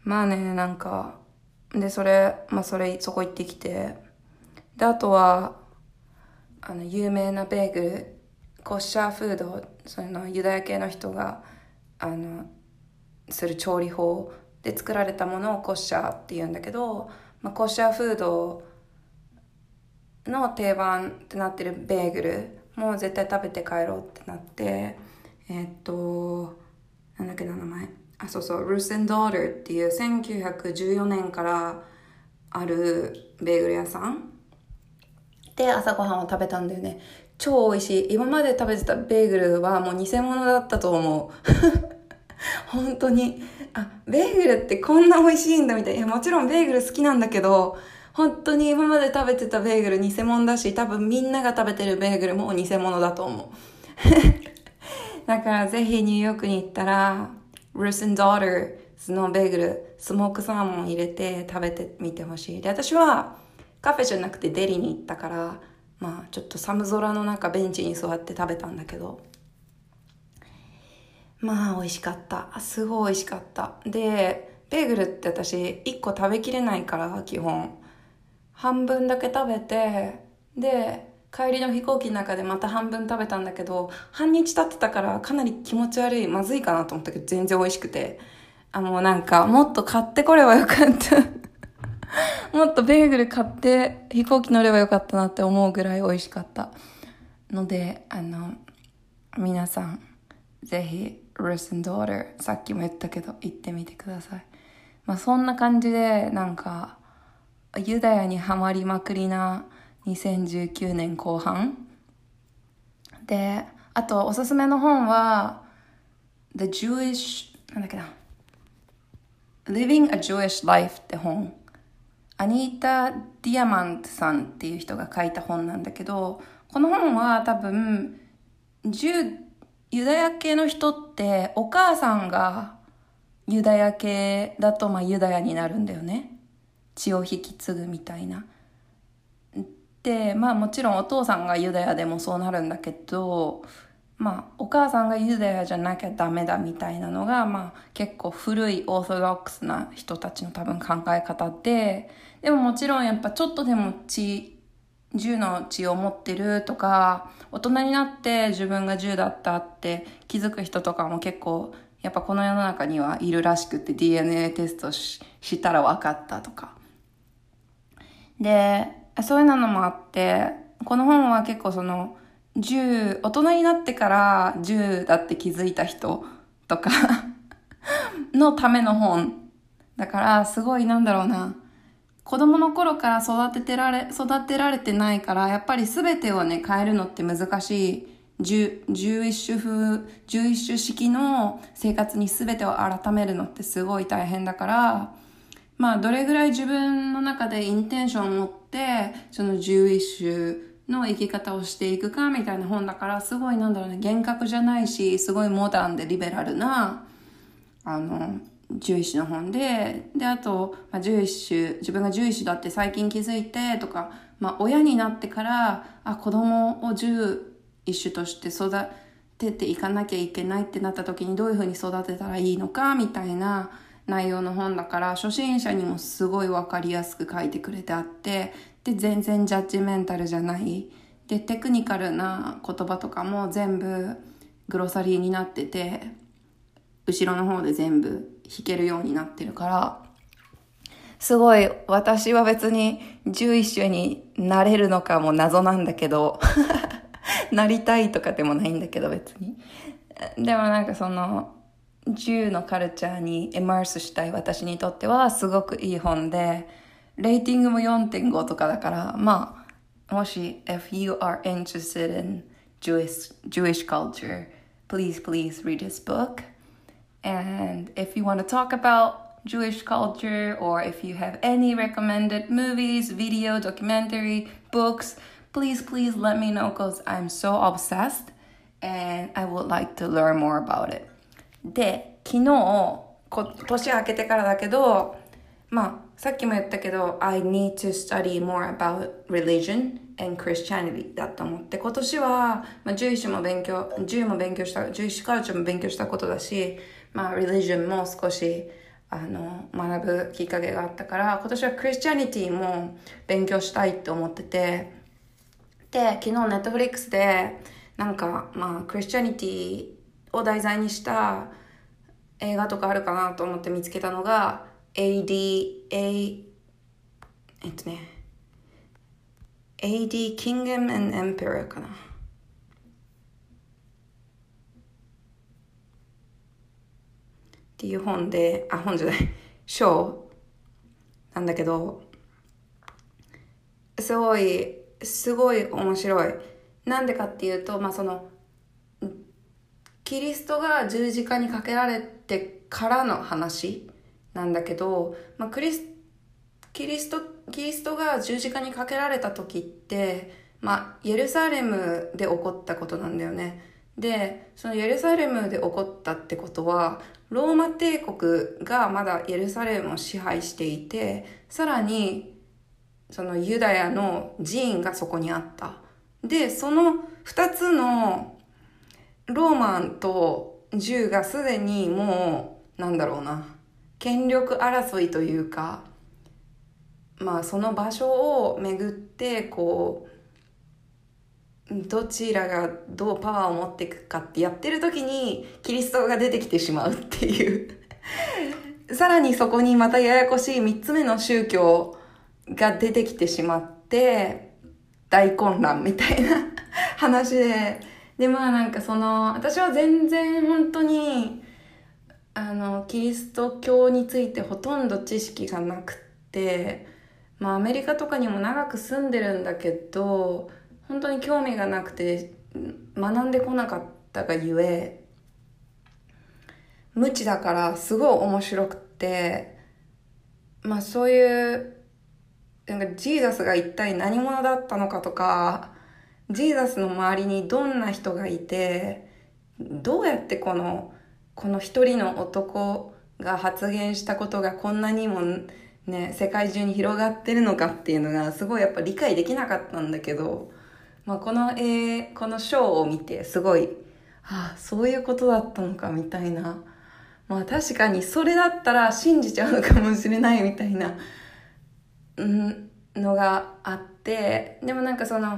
まあね、なんか、で、それ、まあそれ、そこ行ってきて、で、あとは、あの、有名なベーグル、コッシャーフード、そのユダヤ系の人が、あの、する調理法で作られたものをコッシャーって言うんだけど、まあ、コッシャーフードの定番ってなってるベーグルもう絶対食べて帰ろうってなって、えー、っと、なんだっけな名前。あ、そうそう、ルース&ドーターっていうせんきゅうひゃくじゅうよねんからあるベーグル屋さんで朝ごはんを食べたんだよね。超美味しい。今まで食べてたベーグルはもう偽物だったと思う。本当に。あ、ベーグルってこんな美味しいんだみたいな。いや、もちろんベーグル好きなんだけど、本当に今まで食べてたベーグル偽物だし、多分みんなが食べてるベーグルも偽物だと思う。だからぜひニューヨークに行ったら、ルース&ドーターのベーグル、スモークサーモン入れて食べてみてほしい。で、私はカフェじゃなくてデリに行ったから、まあちょっと寒空の中ベンチに座って食べたんだけど、まあ美味しかった。すごい美味しかった。で、ベーグルって私いっこ食べきれないから基本。半分だけ食べて、で、帰りの飛行機の中でまた半分食べたんだけど、半日経ってたからかなり気持ち悪い、まずいかなと思ったけど全然美味しくて。あ、もうなんかもっと買ってこればよかった。もっとベーグル買って飛行機乗ればよかったなって思うぐらい美味しかったので、あの皆さんぜひルース&ドーターさっきも言ったけど行ってみてください。まあそんな感じでなんかユダヤにハマりまくりなにせんじゅうきゅうねんこう半で、あとおすすめの本は The Jewish なんだっけな Living a Jewish Life って本、アニータ・ディアマントさんっていう人が書いた本なんだけど、この本は多分ユダヤ系の人ってお母さんがユダヤ系だとまあユダヤになるんだよね。血を引き継ぐみたいな。で、まあもちろんお父さんがユダヤでもそうなるんだけど、まあお母さんがユダヤじゃなきゃダメだみたいなのが、まあ結構古いオーソドックスな人たちの多分考え方で、でももちろんやっぱちょっとでも血、銃の血を持ってるとか、大人になって自分が銃だったって気づく人とかも結構やっぱこの世の中にはいるらしくて、 ディーエヌエー テスト し, したら分かったとかで、そういうのもあって、この本は結構その銃、大人になってから銃だって気づいた人とかのための本だから、すごいなんだろうな、子供の頃から育ててられ、育てられてないから、やっぱり全てをね、変えるのって難しい。十、十一種風、十一種式の生活に全てを改めるのってすごい大変だから、まあ、どれぐらい自分の中でインテンションを持って、その十一種の生き方をしていくかみたいな本だから、すごいなんだろうね、厳格じゃないし、すごいモダンでリベラルな、あの、獣医師の本で、で、あと、まあ、獣医師、自分が獣医師だって最近気づいてとか、まあ、親になってから、あ、子供を獣医師として育てていかなきゃいけないってなった時にどういうふうに育てたらいいのか、みたいな内容の本だから、初心者にもすごいわかりやすく書いてくれてあって、で、全然ジャッジメンタルじゃない。で、テクニカルな言葉とかも全部グロサリーになってて、後ろの方で全部弾けるようになってるから、すごい私は別に獣医師になれるのかも謎なんだけどなりたいとかでもないんだけど別に。でもなんかその銃のカルチャーにエマースしたい私にとってはすごくいい本で、レーティングも よんてんご とかだから、まあもし if you are interested in Jewish, Jewish culture, please please read this book.And if you want to talk about Jewish culture, or if you have any recommended movies, video, documentary, books, please, please let me know because I'm so obsessed and I would like to learn more about it. で、昨日、こ年明けてからだけど、まあ、さっきも言ったけど、I need to study more about religion and Christianity だと思って、今年は、まあ、獣医師も勉強、獣も勉強した、獣医師カルチャーも勉強したことだし、 まあ religion も少しあの学ぶきっかけがあったから、今年はクリスチャニティも勉強したいって思ってて、で昨日ネットフリックスでなんかまあクリスチャニティを題材にした映画とかあるかなと思って見つけたのが エーディー A えっとね エーディー Kingdom and Emperor かなっていう本で、あ、本じゃない章なんだけど、すごいすごい面白い。なんでかっていうと、まあそのキリストが十字架にかけられてからの話なんだけど、まあ、クリスキリストキリストが十字架にかけられた時って、まあ、エルサレムで起こったことなんだよね。で、そのエルサレムで起こったってことは、ローマ帝国がまだエルサレムを支配していて、さらにそのユダヤの寺院がそこにあった。で、その二つのローマンと銃がすでにもうなんだろうな権力争いというか、まあその場所をめぐってこうどちらがどうパワーを持っていくかってやってる時にキリストが出てきてしまうっていうさらにそこにまたややこしい三つ目の宗教が出てきてしまって大混乱みたいな話で、でまあなんかその私は全然本当にあのキリスト教についてほとんど知識がなくて、まあアメリカとかにも長く住んでるんだけど本当に興味がなくて学んでこなかったがゆえ、無知だからすごい面白くて、まあそういうなんかジーザスが一体何者だったのかとか、ジーザスの周りにどんな人がいて、どうやってこのこの一人の男が発言したことがこんなにもね世界中に広がってるのかっていうのがすごいやっぱ理解できなかったんだけど、まあ、この絵このショーを見てすごい、ああそういうことだったのかみたいな、まあ確かにそれだったら信じちゃうのかもしれないみたいな、うん、のがあって、でもなんかその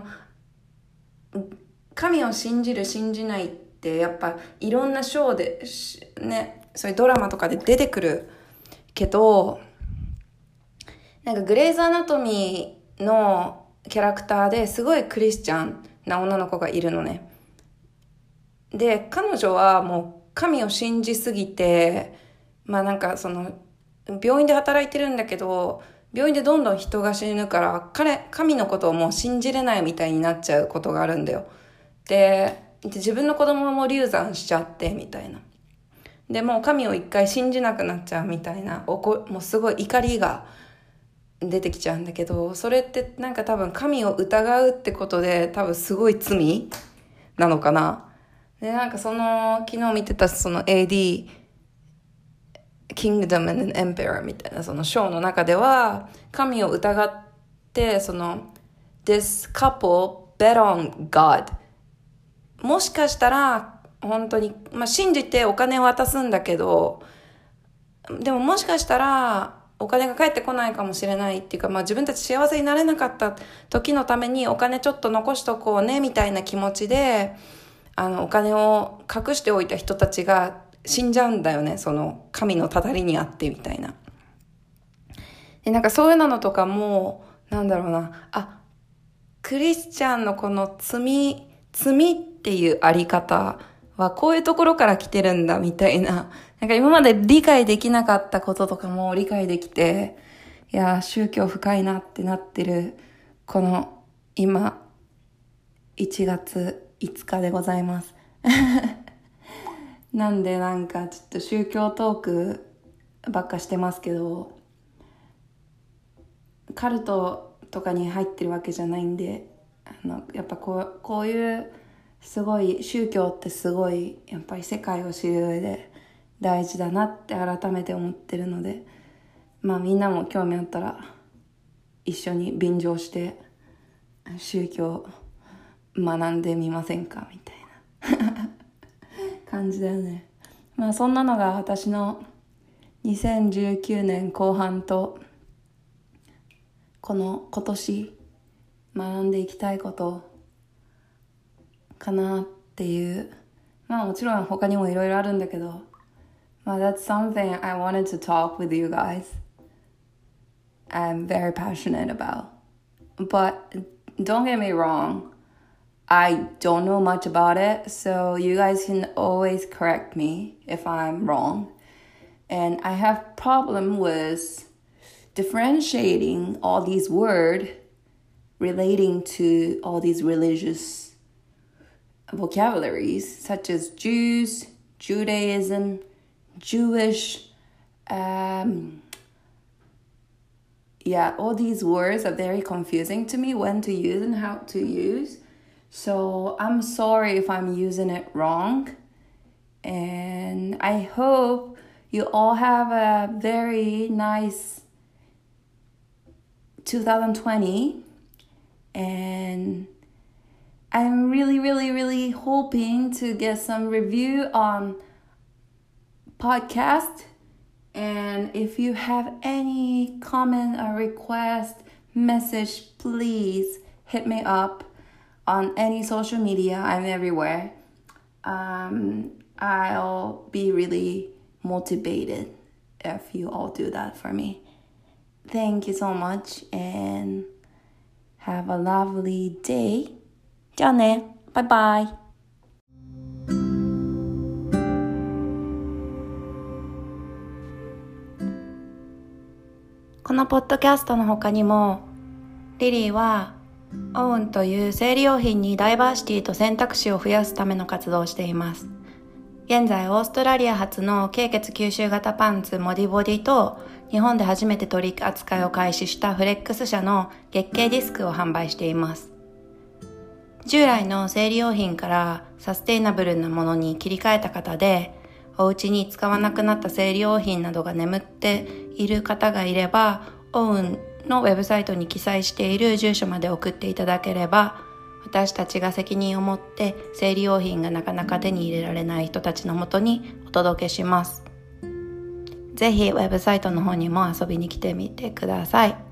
神を信じる信じないってやっぱいろんなショーでね、そういうドラマとかで出てくるけど、なんかグレイズアナトミーのキャラクターですごいクリスチャンな女の子がいるのね。で彼女はもう神を信じすぎて、まあなんかその病院で働いてるんだけど、病院でどんどん人が死ぬから彼神のことをもう信じれないみたいになっちゃうことがあるんだよ。で自分の子供も流産しちゃってみたいな、でもう神を一回信じなくなっちゃうみたいな、おこもうすごい怒りが出てきちゃうんだけど、それってなんか多分神を疑うってことで多分すごい罪なのかな。でなんかその昨日見てたその エーディーKingdom and Emperor みたいなそのショーの中では、神を疑ってその This couple bet on God、 もしかしたら本当に、まあ、信じてお金を渡すんだけど、でももしかしたらお金が返ってこないかもしれないっていうか、まあ、自分たち幸せになれなかった時のためにお金ちょっと残しとこうねみたいな気持ちであのお金を隠しておいた人たちが死んじゃうんだよね、その神のたたりにあってみたいな。でなんかそういうのとかもなんだろうな、あクリスチャンのこの罪罪っていうあり方はこういうところから来てるんだみたいな、なんか今まで理解できなかったこととかも理解できて、いや宗教深いなってなってるこの今いちがついつかでございますなんでなんかちょっと宗教トークばっかしてますけど、カルトとかに入ってるわけじゃないんで、あのやっぱこう、こういうすごい宗教ってすごいやっぱり世界を知る上で大事だなって改めて思ってるので、まあみんなも興味あったら一緒に便乗して宗教学んでみませんかみたいな感じだよね。 まあそんなのが私のにせんじゅうきゅうねん後半とこの今年学んでいきたいことかなっていう。まあもちろん他にもいろいろあるんだけど、まあ that's something I wanted to talk with you guys. I'm very passionate about. But don't get me wrong, I don't know much about it, so you guys can always correct me if I'm wrong. And I have problem with differentiating all these words relating to all these religious vocabularies, such as Jews, Judaism, Jewish, um, yeah, all these words are very confusing to me when to use and how to use. So I'm sorry if I'm using it wrong. And I hope you all have a very nice two thousand twenty. And I'm really, really, really hoping to get some review on podcast. And if you have any comment or request, message, please hit me up on any social media. I'm everywhere. Um, I'll be really motivated if you all do that for me. Thank you so much and have a lovely day. じゃあね。バイバイ。このポッドキャストの他にも、リリーはオウンという生理用品にダイバーシティと選択肢を増やすための活動をしています。現在オーストラリア発の経血吸収型パンツモディボディと日本で初めて取り扱いを開始したフレックス社の月経ディスクを販売しています。従来の生理用品からサステイナブルなものに切り替えた方で、お家に使わなくなった生理用品などが眠っている方がいれば、オウンのウェブサイトに記載している住所まで送っていただければ、私たちが責任を持って生理用品がなかなか手に入れられない人たちのもとにお届けします。ぜひウェブサイトの方にも遊びに来てみてください。